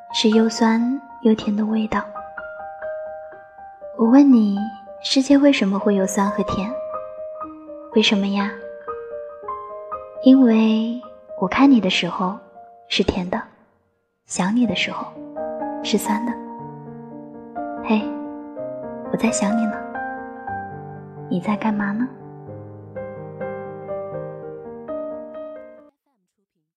是又酸又甜的味道。我问你，世界为什么会有酸和甜？为什么呀？因为我看你的时候是甜的，想你的时候是酸的。嘿，我在想你呢，你在干嘛呢？